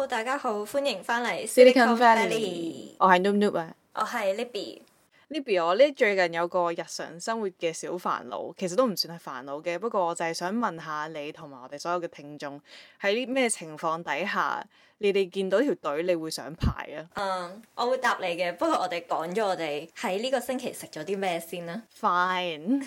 Hello，大家好，歡迎翻嚟 Silicon Valley。我係 Noob Noob 啊。 我係 Libby。 我呢最近有個日常生活嘅小煩惱，其實都唔算係煩惱嘅，不過我就係想問下你同埋我哋所有嘅聽眾，喺啲咩情況底下，你哋見到條隊你會想排啊？ 我會答你嘅，不過我哋講咗我哋喺呢個星期食咗啲咩先啦。 Fine。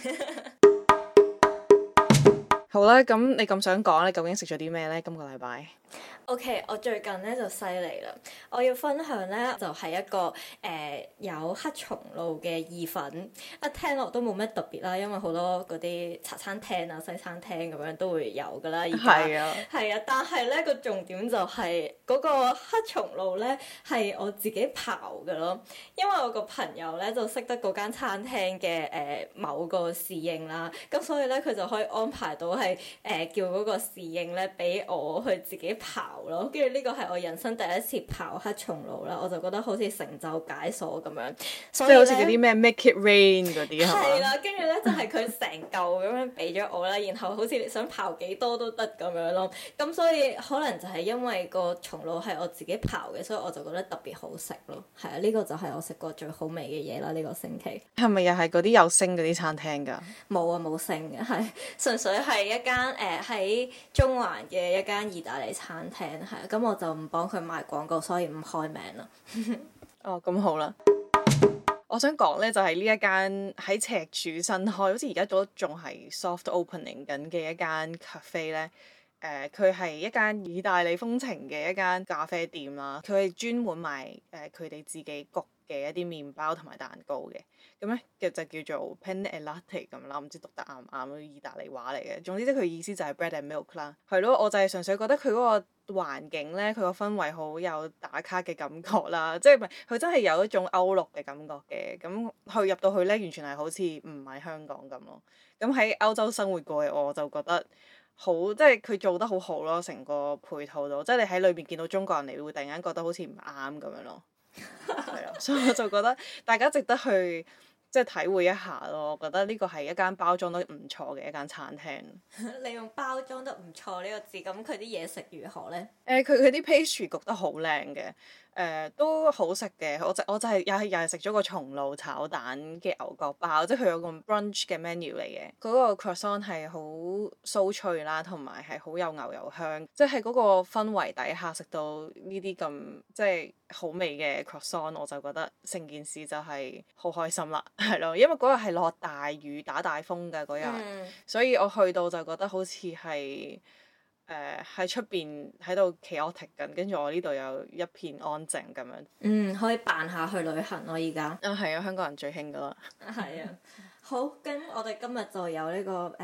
好啦，咁你咁想講，你究竟食咗啲咩呢？今個禮拜 OK，我最近咧就犀利啦！我要分享咧就係一個有黑松露嘅意粉，一聽落都冇咩特別啦，因為好多嗰啲茶餐廳啊、西餐廳咁樣都會有噶啦。而家係啊， 係啊，但係咧個重點就係嗰個黑松露咧係我自己刨嘅咯，因為我個朋友咧就識得嗰間餐廳嘅某個侍應啦，咁所以咧佢就可以安排到係叫嗰個侍應咧俾我去自己刨咯，跟住呢個係我人生第一次刨黑松露啦，我就覺得好似成就解鎖咁樣，所以即係好似嗰啲咩 Make It Rain 嗰啲係嘛？ 係啦，跟住咧就係佢成嚿咁樣俾咗我啦，然後好似你想刨幾多都得咁樣咯，咁所以可能就係因為個松露係我自己刨嘅，所以我就覺得特別好食咯。係啊，呢個就係我食過最好味嘅嘢啦，呢個星期。 係咪又係嗰啲有星嗰啲餐廳㗎？ 冇啊，冇星嘅，係純粹係一間喺中環嘅一間意大利餐廳，係啊，咁我就唔幫佢賣廣告，所以唔開名啦。 哦，咁好啦。我想講呢，就係呢一間喺赤柱新開，好似而家都仲係 soft opening 緊嘅一間 cafe 呢。佢係一間意大利風情嘅一間咖啡店啦。佢係專門賣佢哋自己焗嘅一啲麵包同埋蛋糕嘅。咁呢，就叫做 Pan e Latte 咁啦，唔知讀得啱唔啱咯，意大利話嚟嘅。總之即係佢意思就係 bread and milk 啦。係咯，我就係純粹覺得佢嗰個環境呢，佢個氛圍好有打卡嘅感覺啦，即係唔係佢真係有一種歐陸嘅感覺嘅。咁佢入到去呢，完全係好似唔係香港咁咯。咁喺歐洲生活過嘅我就覺得好，即係佢做得好好咯，成個配套度，即係你喺裏邊見到中國人，你會突然間覺得好似唔啱咁樣咯。係啊，所以我就覺得大家值得去即係體會一下咯。我覺得呢個係一間包裝得唔錯嘅一間餐廳。 你用包裝得唔錯呢個字，咁佢啲嘢食如何呢？ 佢啲 pastry 焗得好靚嘅，都好食嘅。我就係又係食咗個松露炒蛋嘅牛角包，即係佢有個 brunch 嘅 menu 嚟嘅。嗰個 croissant 係好酥脆啦，同埋係好有牛油香，即係嗰個氛圍底下食到呢啲咁即係好味嘅 croissant，我就覺得成件事就係好開心啦，係咯，因為嗰日係落大雨打大風嘅嗰日，所以我去到就覺得好似係喺出邊喺度 chaotic 緊，跟住我呢度有一片安靜咁樣。 可以扮下去旅行咯，而家。 啊，係啊，香港人最興噶啦。 係啊，好，咁我哋今日就有呢個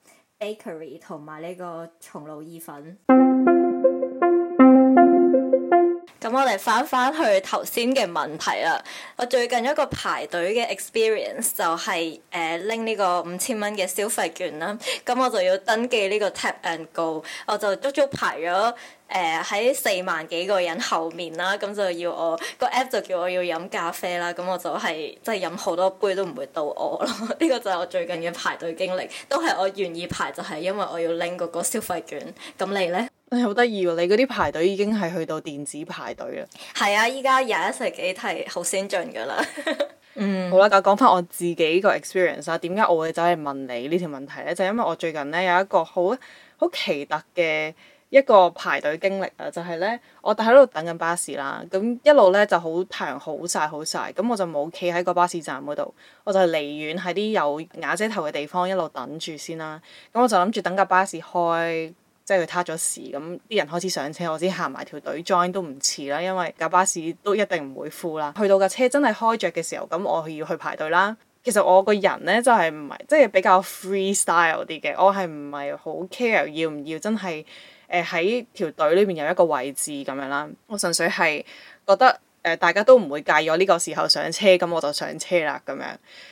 bakery 同埋呢個松露意粉。咁我哋翻去頭先嘅問題啦。我最近一個排隊嘅 experience 就係拎呢個5000蚊嘅消費券啦。咁我就要登記呢個 Tap and Go，我就足足排咗喺4萬幾個人後面啦。咁就要我個 app 就叫我要飲咖啡啦。咁我就係即係飲好多杯都唔會到我咯。呢個就係我最近嘅排隊經歷，都係我願意排就係因為我要拎嗰個消費券。咁你呢？ 好得意喎！你嗰啲排隊已經係去到電子排隊啦。 係啊，依家21世紀係好先進㗎啦。 好啦，咁講翻我自己個 experience 啦。點解我會走嚟問你呢條問題呢？就係因為我最近呢有一個好奇特嘅一個排隊經歷啊，就係呢，我喺度等緊巴士啦，咁一路呢就好太陽好曬，咁我就冇企喺個巴士站嗰度，我就離遠喺啲有瓦遮頭嘅地方一路等住先啦。咁我就諗住等架巴士開。即係佢撻咗時，咁啲人開始上車，我先行埋條隊 join 都唔遲啦，因為架巴士都一定唔會 full 啦。去到架車真係開着嘅時候，咁我要去排隊啦。其實我個人呢，就係唔係即係比較 freestyle 啲嘅，我係唔係好 care 要唔要真係喺條隊裏面有一個位置咁樣啦。我純粹係覺得大家都唔會介意我呢個時候上車，咁我就上車啦咁樣。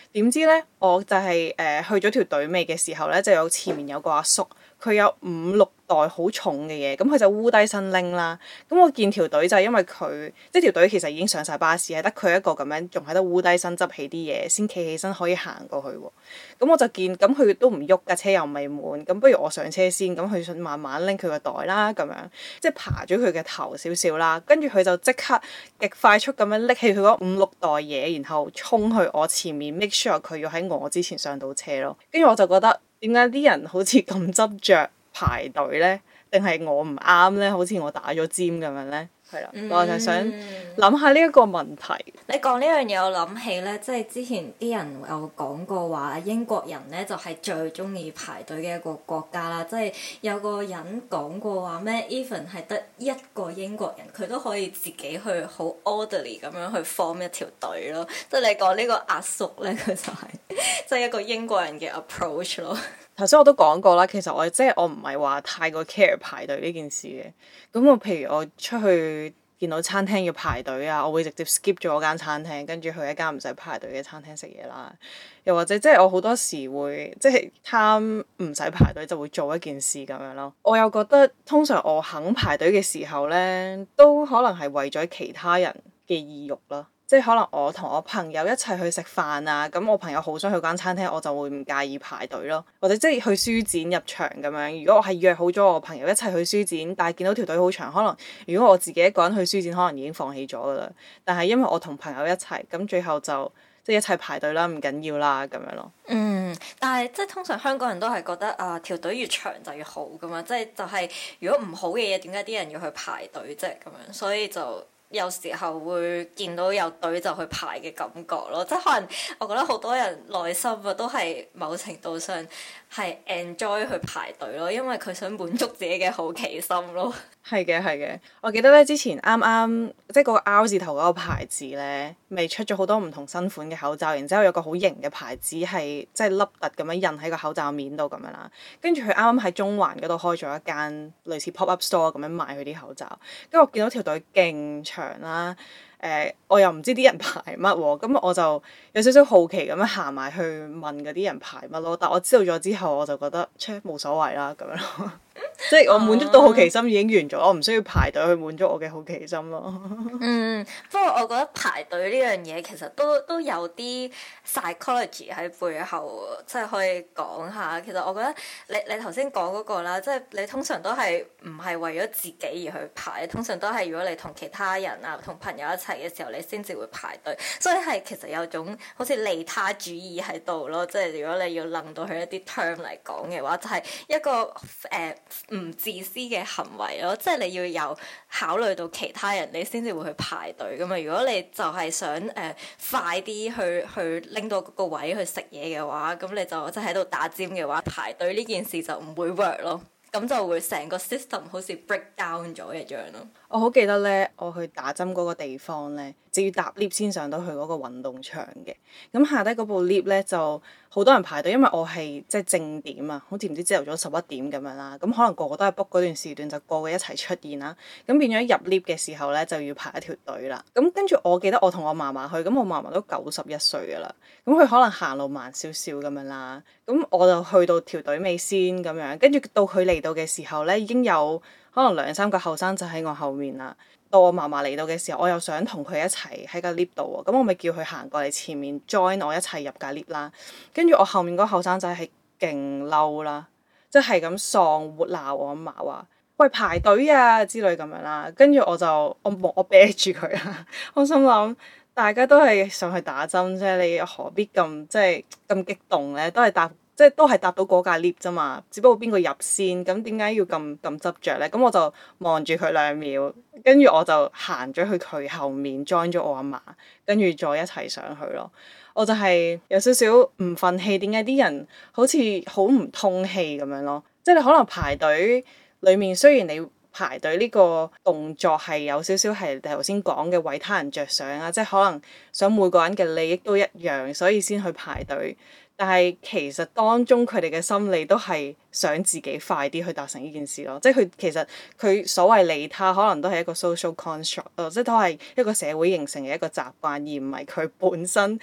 點知呢，我就係去咗條隊尾嘅時候呢，就有前面有個阿叔，佢有5、6袋好重嘅嘢，咁佢就烏低身拎啦。咁我見條隊就係因為佢，即係條隊其實已經上晒巴士，係得佢一個咁樣仲喺度烏低身執起啲嘢，先企起身可以行過去喎。咁我就見，咁佢都唔喐，架車又未滿，咁不如我上車先，咁佢想慢慢拎佢個袋啦，咁樣即係爬咗佢嘅頭少少啦，跟住佢就即刻極快速咁樣拎起佢嗰5、6袋嘢，然後衝去我前面 make sure 佢要喺我之前上到車咯。跟住我就覺得點解啲人好似咁執着排隊呢？定係我唔啱呢？好似我打咗尖咁樣呢？係啦，我就想諗下呢一個問題。 你講呢樣嘢，我諗起呢，即係之前啲人有講過話，英國人呢就係最中意排隊嘅一個國家啦。即係有個人講過話咩，even 係得一個英國人，佢都可以自己去好 orderly 咁樣去 form 一條隊咯。即係你講呢個阿叔呢，佢就係即係一個英國人嘅 approach 咯。 頭先我都講過啦，其實我唔係話太過 care 排隊呢件事嘅。咁我譬如我出去見到餐廳要排隊啊，我會直接 skip 咗嗰間餐廳，跟住去一間唔使排隊嘅餐廳食嘢啦。又或者即係我好多時會即係貪唔使排隊就會做一件事咁樣咯。我又覺得通常我肯排隊嘅時候呢，都可能係為咗其他人嘅意欲啦。即係可能我同我朋友一齊去食飯啊，咁我朋友好想去間餐廳，我就會唔介意排隊咯。或者即係去書展入場咁樣，如果我係約好咗我朋友一齊去書展，但係見到條隊好長，可能如果我自己一個人去書展，可能已經放棄咗噶啦。但係因為我同朋友一齊，咁最後就即係一齊排隊啦，唔緊要啦咁樣咯。 但係即係通常香港人都係覺得啊，條隊越長就越好噶嘛，即係就係如果唔好嘅嘢，點解啲人要去排隊啫咁樣？所以就有時候會見到有隊就去排嘅感覺咯，即係可能我覺得好多人內心啊都係某程度上係 enjoy 去排隊咯，因為佢想滿足自己嘅好奇心咯。 係嘅，係嘅。我記得咧，之前啱啱即係嗰個 R 字頭嗰個牌子咧，未出咗好多唔同新款嘅口罩，然之後有個好型嘅牌子係即係凹凸咁樣印喺個口罩面度咁樣啦。跟住佢啱啱喺中環嗰度開咗一間類似 pop up store 咁樣賣佢啲口罩，跟住我見到條隊勁長啦。我又唔知啲人排乜喎，咁我就有少少好奇咁樣行埋去問嗰啲人排乜咯。但我知道咗之後，我就覺得冇所謂啦咁樣咯。即係我滿足到好奇心已經完咗，我唔需要排隊去滿足我嘅好奇心咯。 不過我覺得排隊呢樣嘢其實都有啲 psychology 喺背後，即係可以講下。其實我覺得你頭先講嗰個啦，即係你通常都係唔係為咗自己而去排，通常都係如果你同其他人啊、同朋友一齊嘅時候，你先至會排隊。所以係其實有種好似利他主義喺度咯，即係如果你要諗到佢一啲 term 嚟講嘅話，就係一個唔自私嘅行為咯，即係你要有考慮到其他人，你先至會去排隊噶嘛。如果你就係想快啲去拎到嗰個位去食嘢嘅話，咁你就即係喺度打尖嘅話，排隊呢件事就唔會 work 咯。咁就會成個 system 好似 break down 咗一樣咯。 我好記得咧，我去打針嗰個地方咧，就要搭 lift 先上到去嗰個運動場嘅。咁下低嗰部 lift 咧就好多人排隊，因為我係即係正點啊，好似唔知朝頭早11點咁樣啦。咁可能個個都係 book 嗰段時段，就個個一齊出現啦。咁變咗入 lift 嘅時候咧，就要排一條隊啦。咁跟住我記得我同我嫲嫲去，咁我嫲嫲都91歲噶啦。咁佢可能行路慢少少咁樣啦。咁我就去到條隊尾先咁樣，跟住到佢嚟到嘅時候咧，已經有可能2、3個後生仔喺我後面啦。到我嫲嫲嚟到嘅時候，我又想同佢一齊喺個 lift 度喎，咁我咪叫佢行過嚟前面 join 我一齊入架 lift 啦。跟住我後面嗰個後生仔係勁嬲啦，即係咁喪活鬧我阿嫲話：喂，排隊啊之類咁樣啦。跟住我啤住佢啊，我心諗大家都係上去打針啫，你何必咁即係咁激動咧？都係搭到嗰架 lift 啫嘛，只不過邊個入先，咁點解要咁執着咧？咁我就望住佢2秒，跟住我就行咗去佢後面 join 咗我阿嫲，跟住再一齊上去咯。我就係有少少唔憤氣，點解啲人好似好唔通氣咁樣咯？即係你可能排隊裡面，雖然你排隊呢個動作係有少少係你頭先講嘅為他人着想啊，即係可能想每個人嘅利益都一樣，所以先去排隊。但係其實當中佢哋嘅心理都係想自己快啲去達成呢件事咯，即係佢所謂利他可能都係一個 social construct 咯，即係都係一個社會形成嘅一個習慣，而唔係佢本身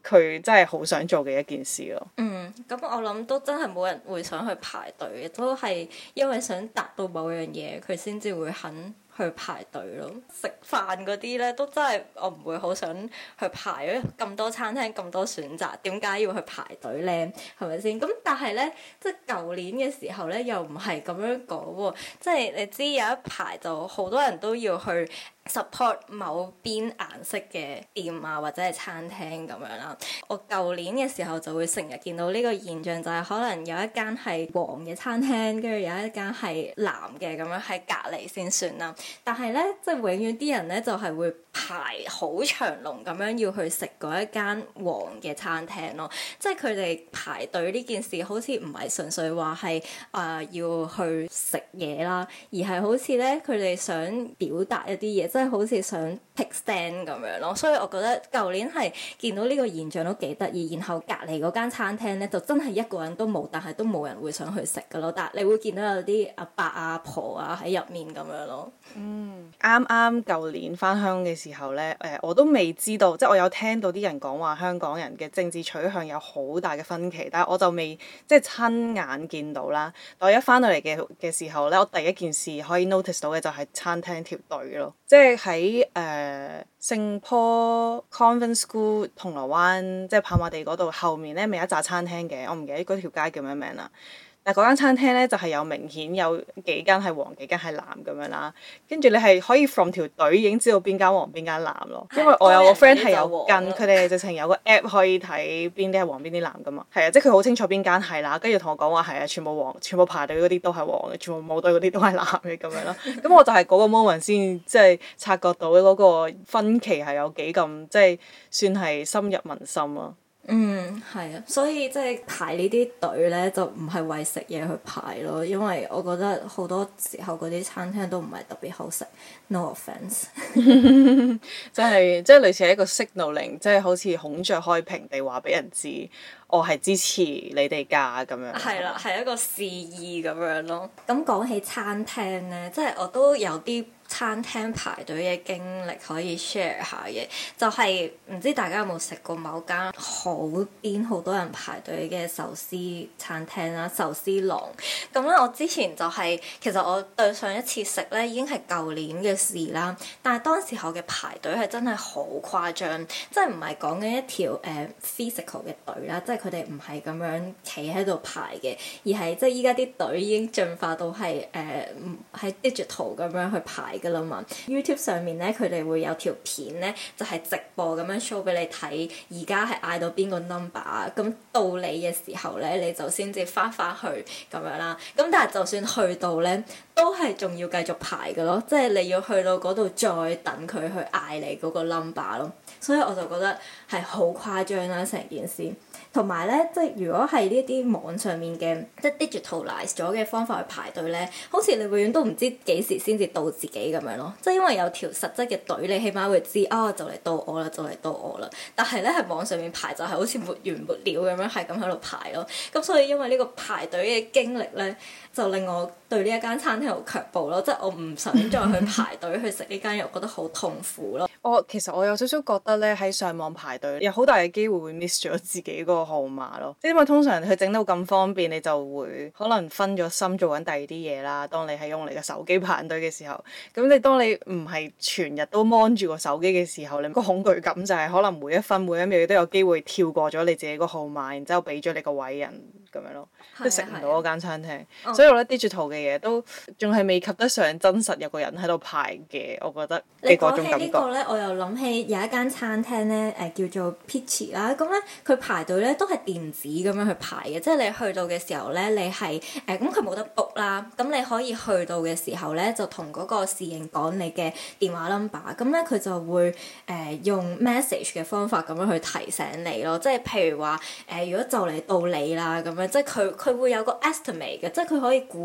佢真係好想做嘅一件事咯。 咁我諗都真係冇人會想去排隊嘅，都係因為想達到某樣嘢，佢先至會肯去排隊咯。食飯嗰啲呢，都真係我唔會好想去排，因為咁多餐廳咁多選擇，點解要去排隊呢？係咪先？咁但係呢，即係舊年嘅時候呢，又唔係咁樣講喎。即係你知有一排就好多人都要去support 某邊顏色嘅店啊，或者係餐廳咁樣啦。我舊年嘅時候就會成日見到呢個現象，就係可能有一間係黃嘅餐廳，跟住有一間係藍嘅咁樣喺隔離先算啦。但係呢，即係永遠啲人呢，就係會排好長龍咁樣要去食嗰一間黃嘅餐廳咯。即係佢哋排隊呢件事好似唔係純粹話係要去食嘢啦，而係好似呢，佢哋想表達一啲嘢。即係好似想 take stand 咁樣咯，所以我覺得舊年係見到呢個現象都幾得意。然後隔離嗰間餐廳咧，就真係一個人都冇，但係都冇人會想去食噶咯。但係你會見到有啲阿伯阿婆啊喺入面咁樣咯。 啱啱舊年返鄉嘅時候咧，我都未知道，即係我有聽到啲人講話香港人嘅政治取向有好大嘅分歧，但係我就未即係親眼見到啦。但我一返到嚟嘅時候咧，我第一件事可以 notice 到嘅就係餐廳條隊咯，即係喺聖坡 Convent School 銅鑼灣，即係跑馬地嗰度後面咧，咪有一紮餐廳嘅，我唔記得嗰條街叫咩名啦。但係嗰間餐廳咧就係有明顯有幾間係黃幾間係藍咁樣啦，跟住你係可以 from 條隊已經知道邊間黃邊間藍咯。因為我有個 friend 係有跟，佢哋直情有個 app 可以睇邊啲係黃邊啲藍噶嘛。係啊，即係佢好清楚邊間係啦，跟住同我講話係啊，全部黃，全部排隊嗰啲都係黃嘅，全部冇隊嗰啲都係藍嘅咁樣咯。咁我就係嗰個 moment 先即係察覺到嗰個分歧係有幾咁即係算係深入民心咯。 係啊，所以即係排呢啲隊呢，就唔係為食嘢去排咯，因為我覺得好多時候嗰啲餐廳都唔係特別好食。No offence， 即係類似係一個 signaling，即係好似孔雀開屏地話俾人知，我係支持你哋㗎咁樣。 係啦，係一個示意咁樣咯。咁講起餐廳呢，即係我都有啲餐廳排隊嘅經歷可以 share 下嘅，就係唔知大家有冇食過某間好多人排隊嘅壽司餐廳啦，壽司郎。咁咧，我之前就係其實我對上一次食咧已經係舊年嘅事啦，但係當時候嘅排隊係真係好誇張，即係唔係講緊一條physical 嘅隊啦，即係佢哋唔係咁樣企喺度排嘅，而係即係依家啲隊已經進化到係喺 digital 咁樣去排㗎啦嘛。YouTube 上面咧，佢哋會有條片咧，就係直播咁樣 show 俾你睇，而家係嗌到邊個 number 啊，咁到你嘅時候咧，你就先至翻去咁樣啦。咁但係就算去到咧，都係仲要繼續排㗎咯，即係你要去到嗰度再等佢去嗌你嗰個 number 咯。所以我就覺得係好誇張啦，成件事。同埋咧，即係如果係呢啲網上面嘅即係 digitalize 咗嘅方法去排隊咧，好似你永遠都唔知幾時先至到自己咁樣咯。即係因為有條實質嘅隊，你起碼會知就嚟到我啦，就嚟到我啦。但係咧，喺網上面排就係好似沒完沒了咁樣，係咁喺度排咯。咁所以因為呢個排隊嘅經歷咧，就令我對呢一間餐廳好卻步咯。即係我唔想再去排隊去食呢間，又覺得好痛苦咯。 其實我有少少覺得咧，喺上網排隊有好大嘅機會會 miss 咗自己嗰個號碼咯。因為通常佢整到咁方便，你就會可能分咗心做緊第二啲嘢啦。當你係用你嘅手機排隊嘅時候，咁當你唔係全日都 mon 住個手機嘅時候，你個恐懼感就係可能每一分每一秒都有機會跳過咗你自己個號碼，然之後俾咗你個位人咁樣咯，都食唔到嗰間餐廳。所以我覺得 digital 嘅嘢都仲係未及得上真實有個人喺度排嘅，我覺得嘅嗰種感覺。 你講起呢個咧，我又諗起有一間餐廳咧，叫做 Peachy 啦。咁咧佢排隊咧都係電子咁樣去排嘅，即係你去到嘅時候咧，你係咁佢冇得 book 啦。咁你可以去到嘅時候咧，就同嗰個侍應講你嘅電話 number。咁咧佢就會用 message 嘅方法咁樣去提醒你咯。即係譬如話如果就嚟到你啦咁樣，即係佢會有個 estimate 嘅，即係佢可以估計到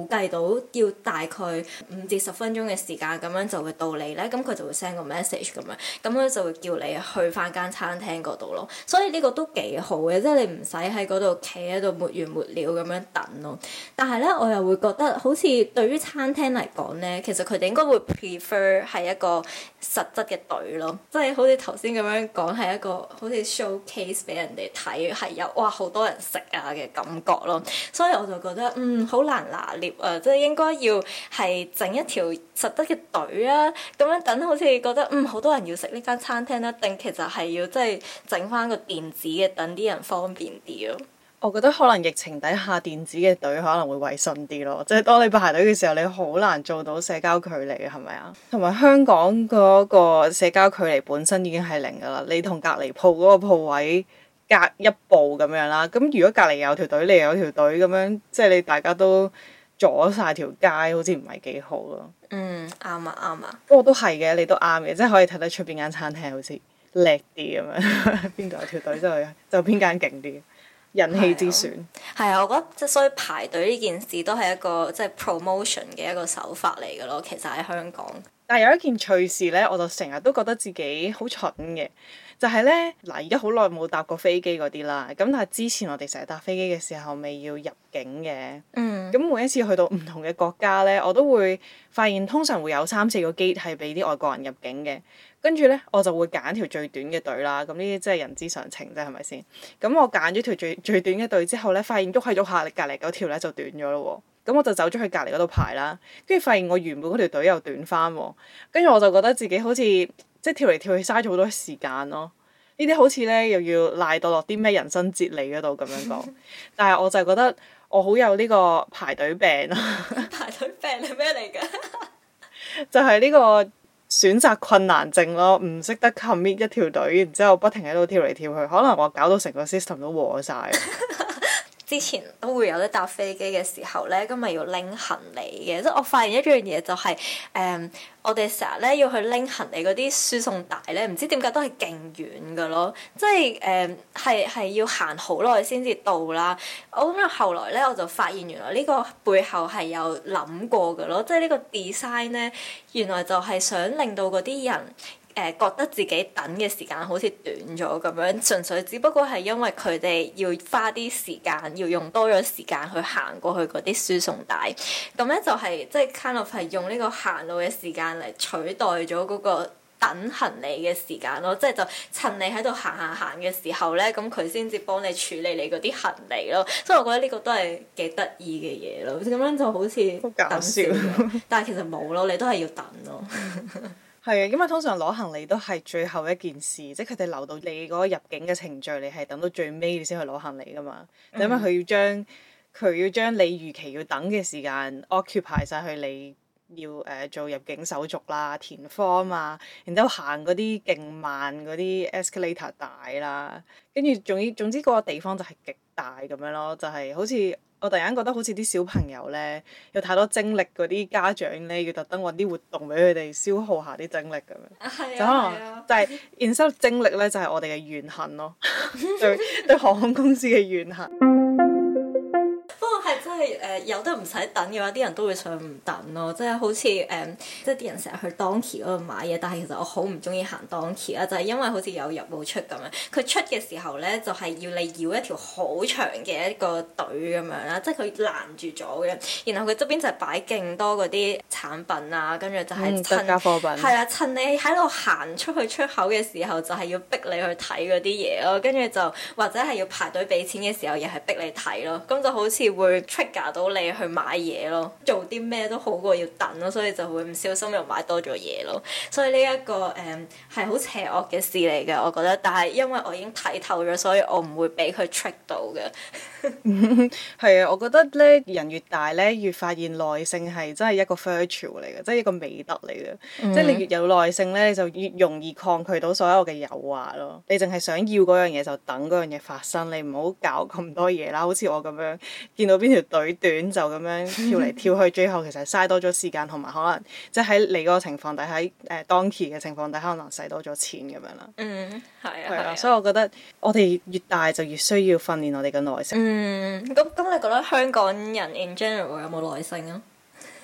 要大概5至10分鐘嘅時間咁樣就會到你咧，咁佢就會 send 個 message 咁樣，咁佢就會叫你去翻間餐廳嗰度咯。所以呢個都幾好嘅，即係你唔使喺嗰度企喺度沒完沒了咁樣等咯。但係咧，我又會覺得好似對於餐廳嚟講咧，其實佢哋應該會 prefer 係一個實質嘅隊咯，即係好似頭先咁樣講係一個好似 showcase 俾人哋睇，係有哇好多人食啊嘅感覺咯。所以我就覺得好難拿捏啊，即係應該要係整一條實質嘅隊啊，咁樣等好似覺得好多人要食呢間餐廳啦，定其實係要即係整翻個電子嘅，等啲人方便啲咯。 我覺得可能疫情底下電子嘅隊可能會衞生啲咯，即係當你排隊嘅時候，你好難做到社交距離嘅，係咪啊？同埋香港嗰個社交距離本身已經係零㗎啦，你同隔離鋪嗰個鋪位隔一步咁樣啦，咁如果隔離有條隊，你又有條隊咁樣，即係你大家都阻晒條街，好似唔係幾好咯。 啱啊啱啊。 不過都係嘅，你都啱嘅，即係可以睇得出邊間餐廳好似叻啲咁樣，邊度有條隊就邊間勁啲。人氣之選係啊，我覺得即係所以排隊呢件事都係一個即係 promotion 嘅一個手法嚟嘅咯。其實喺香港， 但係有一件趣事咧，我就成日都覺得自己好蠢嘅，就係咧嗱，而家好耐冇搭過飛機嗰啲啦。咁但係之前我哋成日搭飛機嘅時候，咪要入境嘅。咁每一次去到唔同嘅國家咧，我都會發現通常會有3-4個 gate 係俾啲外國人入境嘅。跟住咧，我就會揀條最短嘅隊啦。咁呢啲真係人之常情啫，係咪先？咁我揀咗條最短嘅隊之後咧，發現喐下喐下，隔離嗰條咧就短咗咯喎。咁我就走咗去隔離嗰度排啦。跟住發現我原本嗰條隊又短翻喎。跟住我就覺得自己好似即係跳嚟跳去嘥咗好多時間咯。呢啲好似咧又要賴到落啲咩人生哲理嗰度咁樣講。但係我就覺得我好有呢個排隊病啊！ 排隊病係咩嚟㗎？ 就係呢個選擇困難症咯，唔識得 commit 一條隊，然之後不停喺度跳嚟跳去，可能我搞到成個 system 都和晒。 之前都會有得搭飛機嘅時候咧，咁咪要拎行李嘅，即係我發現一樣嘢就係我哋成日咧要去拎行李嗰啲輸送帶咧，唔知點解都係勁遠㗎咯，即係係要行好耐先至到啦。我諗後來咧我就發現原來呢個背後係有諗過㗎咯，即係呢個 design 咧原來就係想令到嗰啲人覺得自己等嘅時間好似短咗咁樣，純粹只不過係因為佢哋要花啲時間，要用多咗時間去行過去嗰啲輸送帶，咁咧就係即係 kind of 係用呢個行路嘅時間嚟取代咗嗰個等行李嘅時間咯，即係就趁你喺度行嘅時候咧，咁佢先至幫你處理你嗰啲行李咯，所以我覺得呢個都係幾得意嘅嘢咯，咁樣就好似好搞笑， 但係其實冇咯，你都係要等咯。 係啊，因為通常攞行李都係最後一件事，即係佢哋留到你嗰個入境嘅程序，你係等到最尾你先去攞行李噶嘛。因為佢要將你預期要等嘅時間 occupy 晒去你要做入境手續啦、填 form 啊，然之後行嗰啲勁慢嗰啲 escalator 帶啦，跟住總之嗰個地方就係極大咁樣咯，就係好似。我突然間覺得好似啲小朋友咧，有太多精力嗰啲家長咧，要特登揾啲活動俾佢哋消耗下啲精力咁樣。就可能就係 instead of 精力咧，就係我哋嘅怨恨咯，對航空公司嘅怨恨。 不過係真係有得唔使等嘅話，啲人都會想唔等咯，即係好似即係啲人成日去 Donkey 嗰度買嘢，但係其實我好唔中意行 Donkey 啊，就係因為好似有入冇出咁樣。佢出嘅時候咧，就係要你繞一條好長嘅一個隊咁樣啦，即係佢攔住咗嘅。然後佢側邊就係擺勁多嗰啲產品啊，跟住就係特價貨品。 係啊，趁你喺度行出去出口嘅時候，就係要逼你去睇嗰啲嘢咯，跟住就或者係要排隊俾錢嘅時候，又係逼你睇咯，咁就好似會 trigger 到你去買嘢咯，做啲咩都好過要等咯，所以就會唔小心又買多咗嘢咯。所以呢一個係好邪惡嘅事嚟嘅，我覺得。但係因為我已經睇透咗，所以我唔會俾佢 trick 到嘅。 係啊，我覺得咧人越大咧，越發現耐性係真係一個 virtue 嚟嘅，即係一個美德嚟嘅。即係你越有耐性咧，你就越容易抗拒到所有嘅誘惑咯。你淨係想要嗰樣嘢就等嗰樣嘢發生，你唔好搞咁多嘢啦。好似我咁樣見到邊條隊短就咁樣跳嚟跳去，最後其實嘥多咗時間，同埋可能即係喺你嗰個情況底下，喺Donkey 嘅情況底下，可能使多咗錢咁樣啦。係啊，所以我覺得我哋越大就越需要訓練我哋嘅耐性。 咁你覺得香港人 in general 有冇耐性啊？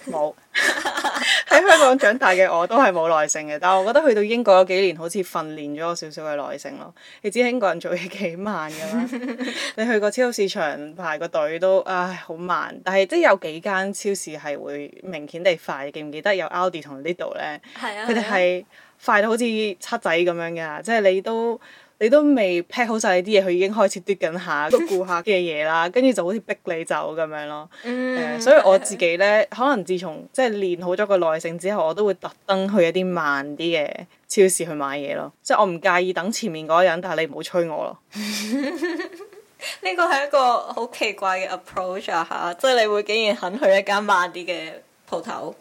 冇。喺香港長大嘅我都係冇耐性嘅，但係我覺得去到英國嗰幾年好似訓練咗我少少嘅耐性咯。你知英國人做嘢幾慢㗎啦，你去個超級市場排個隊都唉好慢，但係即係有幾間超市係會明顯地快，記唔記得有 Aldi 同 Lidl 咧？ 係啊， 佢哋係快到好似七仔咁樣㗎，即係你都未 pack 好晒你啲嘢，佢已經開始嘟緊下個顧客嘅嘢啦，跟住就好似逼你走咁樣咯。所以我自己呢，可能自從即係練好咗個耐性之後，我都會特登去一啲慢啲嘅超市去買嘢咯。即係我唔介意等前面嗰個人，但係你唔好催我咯。 呢個係一個好奇怪嘅 approach 啊嚇！即係你會竟然肯去一間慢啲嘅鋪頭。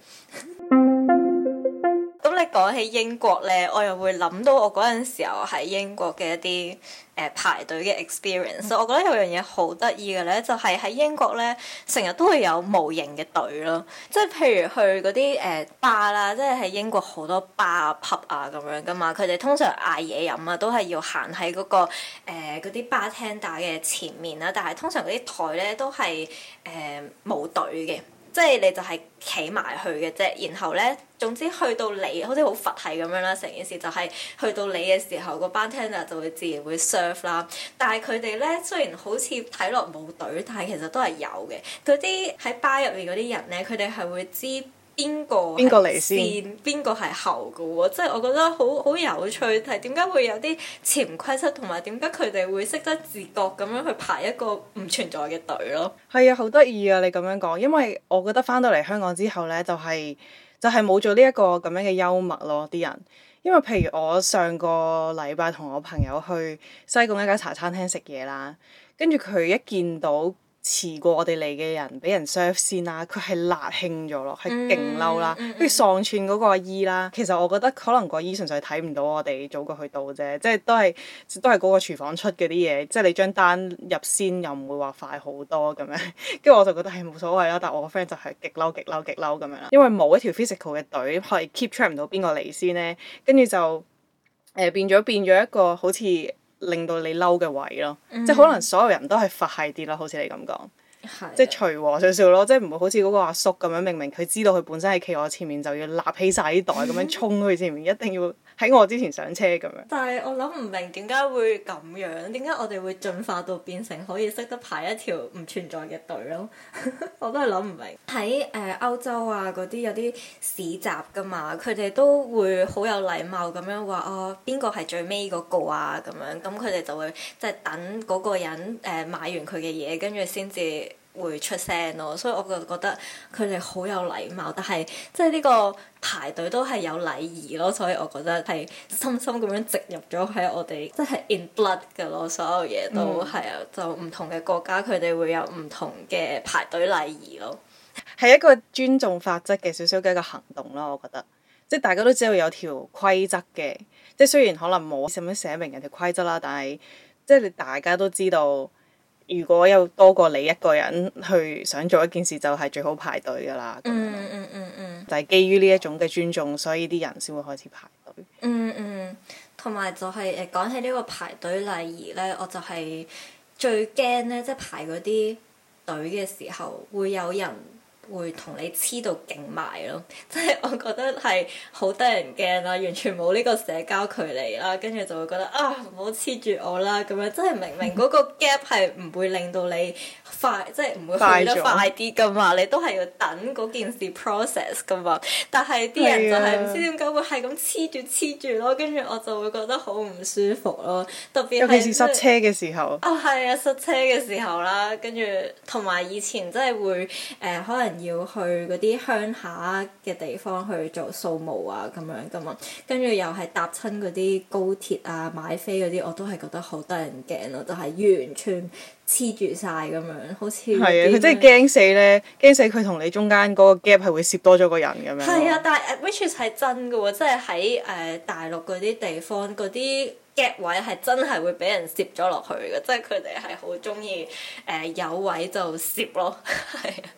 咁你講起英國呢，我又會諗到我嗰陣時候喺英國嘅一啲排隊嘅 experience。我覺得有樣嘢好得意嘅呢，就係喺英國呢，成日都會有無形嘅隊咯。即係譬如去嗰啲bar啦，即係喺英國好多 bar 啊 pub 啊咁樣噶嘛，佢哋通常嗌嘢飲啊都係要行喺嗰個嗰啲 bartender 嘅前面啦。但係通常嗰啲台呢都係冇隊嘅。即係你就係企埋去嘅啫，然後咧，總之去到你好似好佛系咁樣啦，成件事就係去到你嘅時候，個 bartender 就會自然會 serve 啦。但係佢哋咧雖然好似睇落冇隊，但係其實都係有嘅。嗰啲喺 bar 入面嗰啲人咧，佢哋係會知邊個嚟先，邊個係後嘅喎，即係我覺得好有趣，係點解會有啲潛規則，同埋點解佢哋會識得自覺咁樣去排一個唔存在嘅隊咯？係啊，好得意啊！你咁樣講，因為我覺得翻到嚟香港之後呢，就係冇咗呢一個咁樣嘅幽默咯，啲人。因為譬如我上個禮拜同我朋友去西貢一間茶餐廳食嘢啦，跟住佢一見到遲過我哋嚟嘅人俾人 serve 先啦，佢係辣興咗咯，係勁嬲啦，跟住喪串嗰個阿姨啦。其實我覺得可能個阿姨純粹睇唔到我哋早過去到啫，即係都係嗰個廚房出嗰啲嘢，即係你張單入先又唔會話快好多咁樣。跟住我就覺得係冇所謂啦，但係我個 friend 就係極嬲咁樣啦，因為冇一條 physical 嘅隊係 keep track 唔到邊個嚟先咧，跟住就變咗一個好似令到你嬲嘅位咯，即係可能所有人都係佛系啲咯，好似你咁講，即係隨和少少咯，即係唔會好似嗰個阿叔咁樣，明明佢知道佢本身係企我前面，就要立起晒啲袋咁樣衝去前面，一定要喺我之前上車咁樣。 但係我諗唔明點解會咁樣，點解我哋會進化到變成可以識得排一條唔存在嘅隊咯？我都係諗唔明。喺歐洲啊嗰啲有啲市集噶嘛，佢哋都會好有禮貌咁樣話哦，邊個係最尾嗰個啊咁樣，咁佢哋就會即係等嗰個人買完佢嘅嘢，跟住先至會出聲咯，所以我就覺得佢哋好有禮貌，但係即係呢個排隊都係有禮儀咯，所以我覺得係深深咁樣植入咗喺我哋，即係 in blood 㗎咯，所有嘢都係啊，就唔同嘅國家佢哋會有唔同嘅排隊禮儀咯， 係一個尊重法則嘅少少嘅一個行動咯，我覺得，即係大家都知道有條規則嘅，即係雖然可能冇咁樣寫明人條規則啦，但係即係你大家都知道。如果有多過你一個人去想做一件事，就係最好排隊㗎啦。就係基於呢一種嘅尊重，所以啲人先會開始排隊。 同埋就係講起呢個排隊禮儀呢，我就係最驚呢，即係排嗰啲隊嘅時候會有人會同你黐到勁埋咯，即係我覺得係好得人驚啦，完全冇呢個社交距離啦，跟住就會覺得啊，唔好黐住我啦咁樣，即係明明嗰個 gap 係唔會令到你快，即係唔會去得快啲噶嘛，你都係要等嗰件事 process 噶嘛，但係啲人就係唔知點解會係咁黐住咯，跟住我就會覺得好唔舒服咯，特別係尤其是塞車嘅時候。 係啊，塞車嘅時候啦，跟住同埋以前真係會可能要去嗰啲鄉下嘅地方去做掃墓啊咁樣噶嘛，跟住又係搭親嗰啲高鐵啊買飛嗰啲，我都係覺得好得人驚咯，就係完全黐住晒咁樣，好似係啊，佢真係驚死咧，驚死佢同你中間嗰個 gap 係會攝多咗個人咁樣。 係啊，但係 which is 係真嘅喎，即係喺大陸嗰啲地方嗰啲 gap 位係真係會俾人攝咗落去嘅，即係佢哋係好中意有位就攝咯，係啊。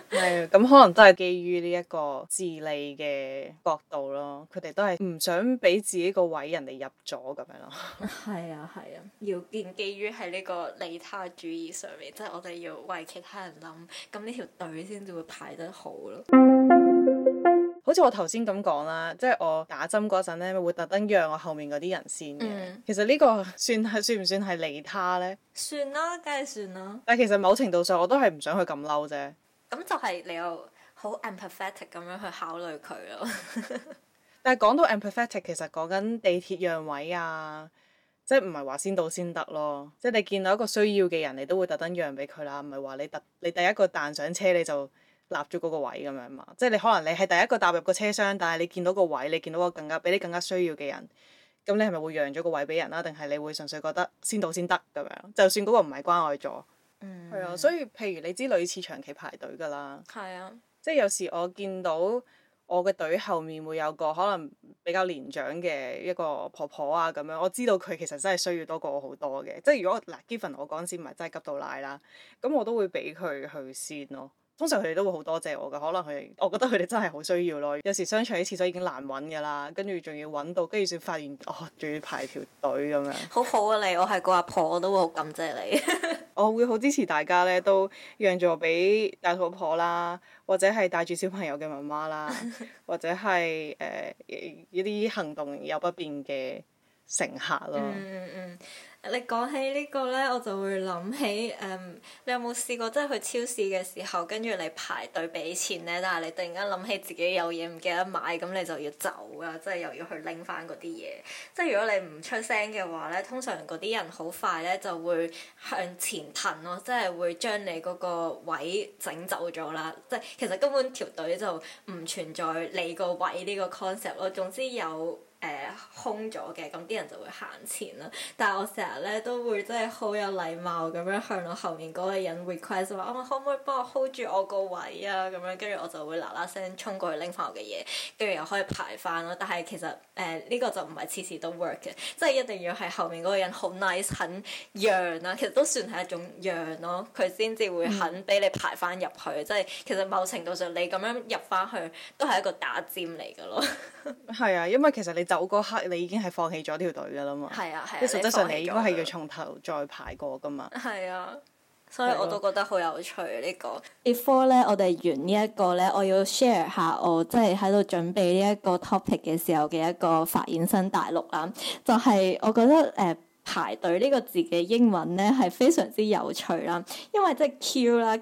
係咁可能都係基於呢一個自利嘅角度咯，佢哋都係唔想俾自己個位人哋入咗咁樣咯。 係啊係啊，要建基於喺呢個利他主義上面，即係我哋要為其他人諗，咁呢條隊先至會排得好咯。 好似我頭先咁講啦，即係我打針嗰陣咧，會特登讓我後面嗰啲人先嘅。其實呢個算唔算係利他呢？ 算啦，梗係算啦。 但係其實某程度上我都係唔想佢咁嬲啫。 咁就係你又好 empathetic 咁樣去考慮佢咯。 但係講到 empathetic，其實講緊地鐵讓位啊，即係唔係話先到先得咯。即係你見到一個需要嘅人，你都會特登讓俾佢啦，唔係話你第一個彈上車你就立咗嗰個位咁樣嘛，即係你可能你係第一個踏入個車廂，但係你見到個位，你見到個比你更加需要嘅人，咁你係咪會讓咗個位俾人啦？定係你會純粹覺得先到先得咁樣？就算嗰個唔係關愛座，係啊，所以譬如你知女廁長期排隊㗎啦， 係啊， 即係有時我見到我嘅隊後面會有個可能比較年長嘅一個婆婆啊咁樣，我知道佢其實真係需要多過我好多嘅，即係如果嗱 given 我嗰陣時唔係真係急到奶啦，咁我都會俾佢去先咯。通常佢哋都會好多謝我㗎，可能我覺得佢哋真係好需要咯。有時商場啲廁所已經難揾㗎啦，跟住仲要揾到，跟住先發現仲要排條隊咁樣。好好啊你，我係個阿婆，我都會好感謝你。 我會好支持大家咧，都讓座俾大肚婆啦，或者係帶住小朋友嘅媽媽啦，或者係一啲行動有不便嘅乘客咯。 你講起呢個呢，我就會諗起你有冇試過即係去超市嘅時候，跟住你排隊俾錢呢？但係你突然間諗起自己有嘢唔記得買，咁你就要走啊，即係又要去拎翻嗰啲嘢。即係如果你唔出聲嘅話呢，通常嗰啲人好快呢就會向前騰咯，即係會將你嗰個位整走咗啦。即係其實根本條隊就唔存在你個位呢個 concept 咯。總之有空咗嘅，咁啲人就會行前啦。但係我成日咧都會真係好有禮貌咁樣向我後面嗰個人 request 話，可唔可以幫我 hold 住我個位啊？咁樣跟住我就會嗱嗱聲衝過去拎翻我嘅嘢，跟住又可以排翻咯。但係其實呢個就唔係次次都 work 嘅，即係一定要係後面嗰個人好 nice 肯讓啦。其實都算係一種讓咯，佢先至會肯俾你排翻入去。即係其實某程度上你咁樣入翻去都係一個打尖嚟㗎咯。 係啊，因為其實你走嗰刻你已經係放棄咗條隊㗎啦嘛。 係啊， 即係實質上你應該係要從頭再排過㗎嘛。 係啊，所以我都覺得好有趣呢個。Before 咧，我哋完呢一個咧，我要 share 下我即係喺度準備呢一個 topic 嘅時候嘅一個發現新大陸啦。就係我覺得排隊呢個字嘅英文咧係非常之有趣啦，因為即係 Q 啦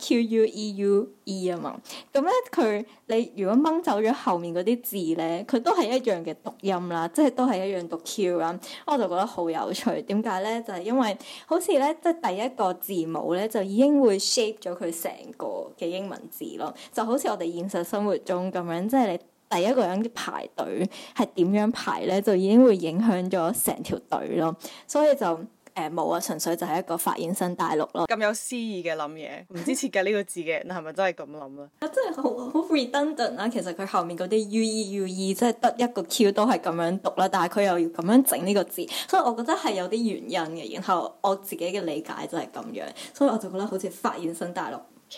，QUEUE 啊嘛，咁咧你如果掹走咗後面嗰啲字咧，佢都係一樣嘅讀音啦，即係都係一樣讀 Q 啦，我就覺得好有趣。點解咧？就係因為好似咧，即係第一個字母咧就已經會 shape 咗佢成個嘅英文字咯，就好似我哋現實生活中咁樣，即係你第一個人嘅排隊係點樣排咧，就已經會影響咗成條隊咯。所以就冇啊，純粹就係一個發現新大陸咯。 咁有詩意嘅諗嘢，唔知設計呢個字嘅人係咪真係咁諗啊？ 真係好 redundant 啦。其實佢後面嗰啲 UE 即係得一個 Q 都係咁樣讀啦，但係佢又要咁樣整呢個字，所以我覺得係有啲原因嘅。然後我自己嘅理解就係咁樣，所以我就覺得好似發現新大陸。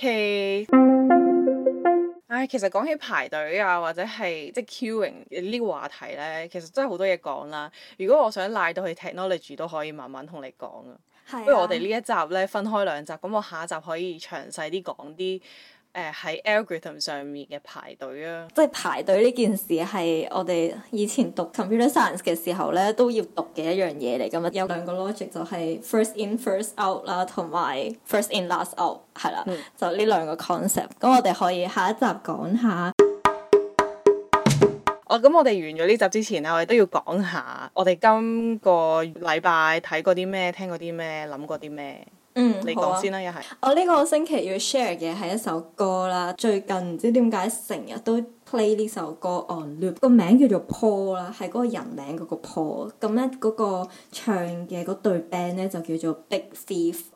其實講起排隊啊，或者係即係 queuing 呢個話題呢，其實真係好多嘢講啦。如果我想賴到去 technology 都可以慢慢同你講啊。不如我哋呢一集呢，分開兩集，咁我下一集可以詳細啲講啲喺 algorithm 上面嘅排隊啊。 即係排隊呢件事係我哋以前讀 computer science 嘅時候咧都要讀嘅一樣嘢嚟㗎嘛。有兩個 logic 就係 first in first out 啦，同埋 first in last out 係啦，就呢兩個 concept。咁我哋可以下一集講下。 咁我哋完咗呢集之前咧，我哋都要講下我哋今個禮拜睇過啲咩，聽過啲咩，諗過啲咩。你講先啦，一係。 我呢個星期要 share 嘅係一首歌啦，最近唔知點解成日都 play 呢首歌 on loop，個名叫做 Paul 啦，係嗰個人名嗰個 Paul。咁咧嗰個唱嘅嗰隊 band 咧就叫做 Big Thief。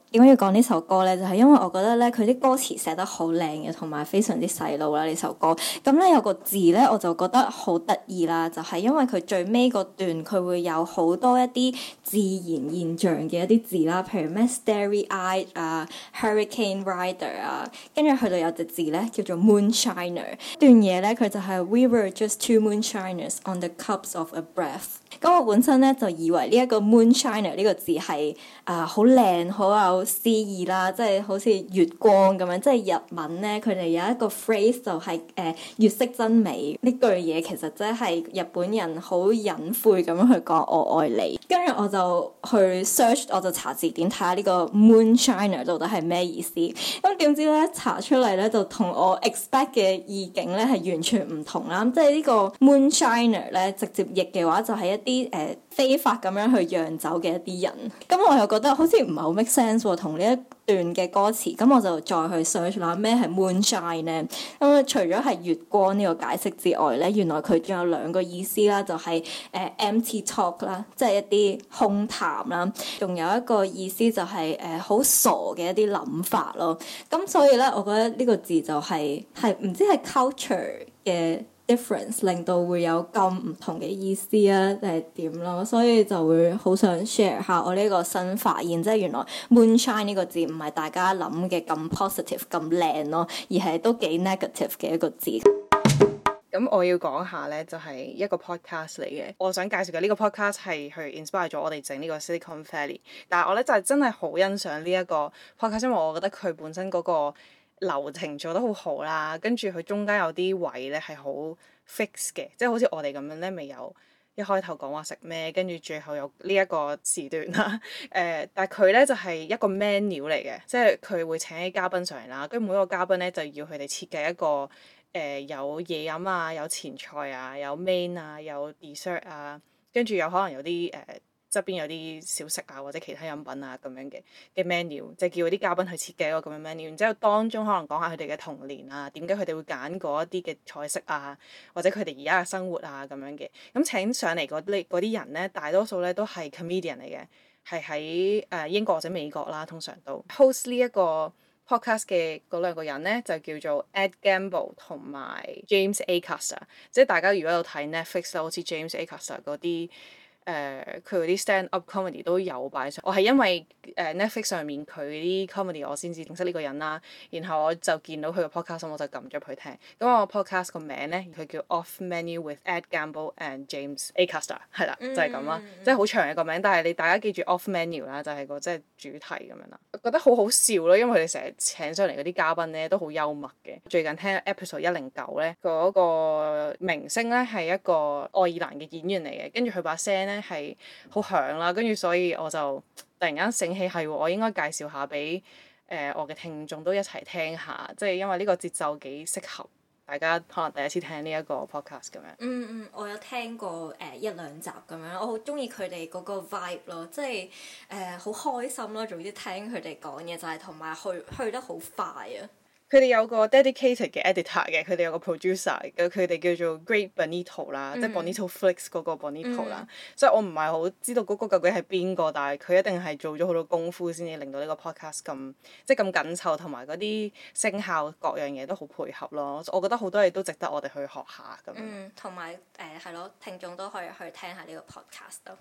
點解要講呢首歌呢？就係因為我覺得咧，佢啲歌詞寫得好靚嘅，同埋非常之洗腦啦呢首歌。咁咧有個字咧，我就覺得好得意啦，就係因為佢最尾嗰段佢會有好多一啲自然現象嘅一啲字啦，譬如咩 starry-eyed 啊、hurricane rider 啊，跟住去到有隻字咧叫做 moonshiner。段嘢咧佢就係 We were just two moonshiners on the cups of a breath。咁我本身咧就以為呢一個 moonshiner 呢個字係好靚好有詩意啦，即係好似月光咁樣，即係日文咧佢哋有一個 phrase 就係月色真美呢句嘢，其實即係日本人好隱晦咁樣去講我愛你。跟住我就去 search， 我就查字典睇下呢個 moonshiner 到底係咩意思。咁點知咧查出嚟咧就同我 expect 嘅意境咧係完全唔同啦。即係呢個 moonshiner 咧直接譯嘅話就係一啲非法咁樣去釀酒嘅一啲人。咁我又覺得好似唔係好 make sense 喎，同呢一段嘅歌詞。咁我就再去 search 啦，咩係 moonshine 咧？咁除咗係月光呢個解釋之外咧，原來佢仲有兩個意思啦，就係empty talk 啦，即係一啲空談啦，仲有一個意思就係好傻嘅一啲諗法咯。咁所以咧，我覺得呢個字就係唔知係 culture 嘅difference 令到會有咁唔同嘅意思啊，定係點咯？所以就會好想 share 下我呢個新發現，即係原來 moonshine 呢個字唔係大家諗嘅咁 positive 咁靚咯，而係都幾 negative 嘅一個字。 咁我要講下呢，就係一個 podcast 嚟嘅。我想介紹嘅呢個 podcast 係去 inspire 咗我哋整呢個 Silicon Valley。但係我呢，就係真係好欣賞呢一個 podcast，因為我覺得佢本身嗰個流程做得好好啦，跟住佢中間有啲位呢係好 fix 嘅，即係好似我哋咁樣呢，未有一開頭講話食咩，跟住最後有呢一個時段啦。但係佢呢就係一個 menu 嚟嘅，即係佢會請啲嘉賓上嚟啦，跟住每一個嘉賓呢就要佢哋設計一個有嘢飲啊，有前菜啊，有 main 啊，有 dessert 啊，跟住有可能有啲側邊有啲小食啊，或者其他飲品啊咁樣嘅 menu，即係叫嗰啲嘉賓去設計一個咁樣 menu，然之後當中可能講下佢哋嘅童年啊，點解佢哋會揀嗰一啲嘅菜式啊，或者佢哋而家嘅生活啊咁樣嘅。咁請上嚟嗰啲人咧，大多數咧都係 comedian 嚟嘅，係喺英國或者美國啦，通常都 host 呢一個 podcast 嘅嗰兩個人咧就叫做 Ed Gamble 同埋 James Acaster， 即係大家如果有睇 Netflix 啦，好似 James Acaster 嗰啲。佢嗰啲 stand up comedy 都有擺上，我係因為Netflix 上面佢啲 comedy 我先至認識呢個人啦，然後我就見到佢個 podcast，我就撳咗佢聽。咁我 podcast 個名咧，佢叫 Off Menu with Ed Gamble and James Acaster， 係啦，就係咁啦，即係好長嘅個名，但係你大家記住 Off Menu 啦，就係個即係主題咁樣啦。我覺得好好笑咯，因為佢哋成日請上嚟嗰啲嘉賓咧都好幽默嘅。最近聽 episode 109咧，嗰個明星咧係一個愛爾蘭嘅演員嚟嘅，跟住佢把聲咧係好響啦，跟住所以我就突然間醒起係我應該介紹下俾我嘅聽眾都一齊聽下，即係因為呢個節奏幾適合大家可能第一次聽呢一個 podcast 咁樣。 我有聽過一兩集咁樣，我好中意佢哋嗰個 vibe 咯，即係好開心咯。總之聽佢哋講嘢就係同埋去得好快啊！ 佢哋有個 dedicated 嘅 editor 嘅，佢哋有個 producer 嘅，佢哋叫做 Great Bonito 啦，即係 Bonito Flix 嗰個 Bonito 啦。所以我唔係好知道嗰個究竟係邊個，但係佢一定係做咗好多功夫先至令到呢個 podcast 咁即係咁緊湊，同埋嗰啲聲效各樣嘢都好配合咯。我覺得好多嘢都值得我哋去學下咁樣。 同埋係咯，聽眾都可以去聽下呢個 podcast 咯。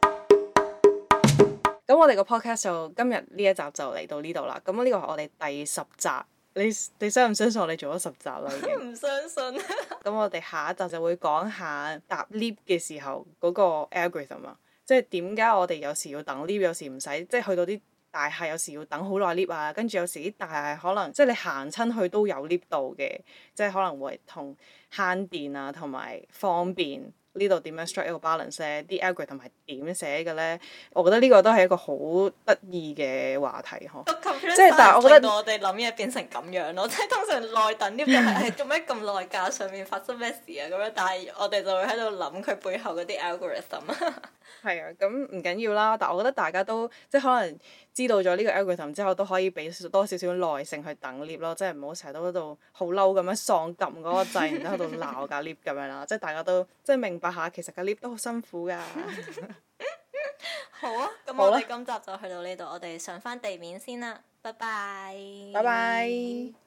咁我哋個 podcast 就今日呢一集就嚟到呢度啦。咁呢個係我哋第10集。你相唔相信我哋做咗10集啦？已經唔相信。 咁我哋下一集就會講下搭 lift 嘅時候嗰個 algorithm 啊，即係點解我哋有時要等 lift，有時唔使，即係去到啲大廈有時要等好耐 lift 啊，跟住有時啲大廈可能即係你行親去都有 lift 到嘅，即係可能會同慳電啊同埋方便。呢度點樣 strike 一個 balance 咧？啲 algorithm 係點寫嘅咧？我覺得呢個都係一個好得意嘅話題呵。 即係但係我覺得我哋諗嘢變成咁樣咯，即係通常耐等 lift 就係做咩咁耐㗎？上面發生咩事啊？咁樣，但係我哋就會喺度諗佢背後嗰啲 algorithm。 係啊，咁唔緊要啦。但係我覺得大家都即係可能知道咗呢個 algorithm 之後，都可以俾多少少耐性去等 lift 咯，即係唔好成日都喺度好嬲咁樣喪撳嗰個掣，然之後喺度鬧架 lift 咁樣啦。即係大家都即係明白下，其實架 lift 都好辛苦㗎。 好啊，咁好啦我哋今集就去到呢度，我哋上翻地面先啦，拜拜。 拜拜。